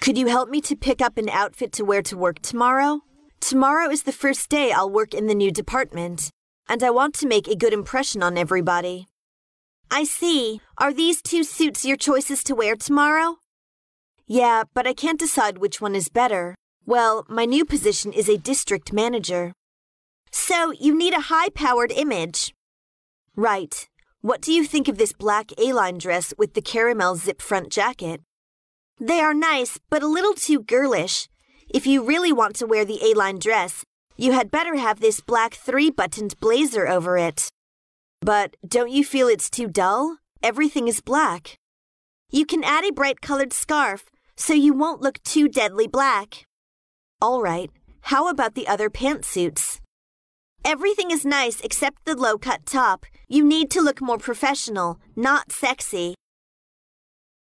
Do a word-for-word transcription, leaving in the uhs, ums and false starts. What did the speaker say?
Could you help me to pick up an outfit to wear to work tomorrow? Tomorrow is the first day I'll work in the new department, and I want to make a good impression on everybody. I see. Are these two suits your choices to wear tomorrow? Yeah, but I can't decide which one is better. Well, my new position is a district manager. So you need a high-powered image. Right. What do you think of this black A-line dress with the caramel zip front jacket? They are nice, but a little too girlish. If you really want to wear the A-line dress, you had better have this black three-buttoned blazer over it. But don't you feel it's too dull? Everything is black. You can add a bright-colored scarf, so you won't look too deadly black. All right, how about the other pantsuits? Everything is nice except the low-cut top. You need to look more professional, not sexy.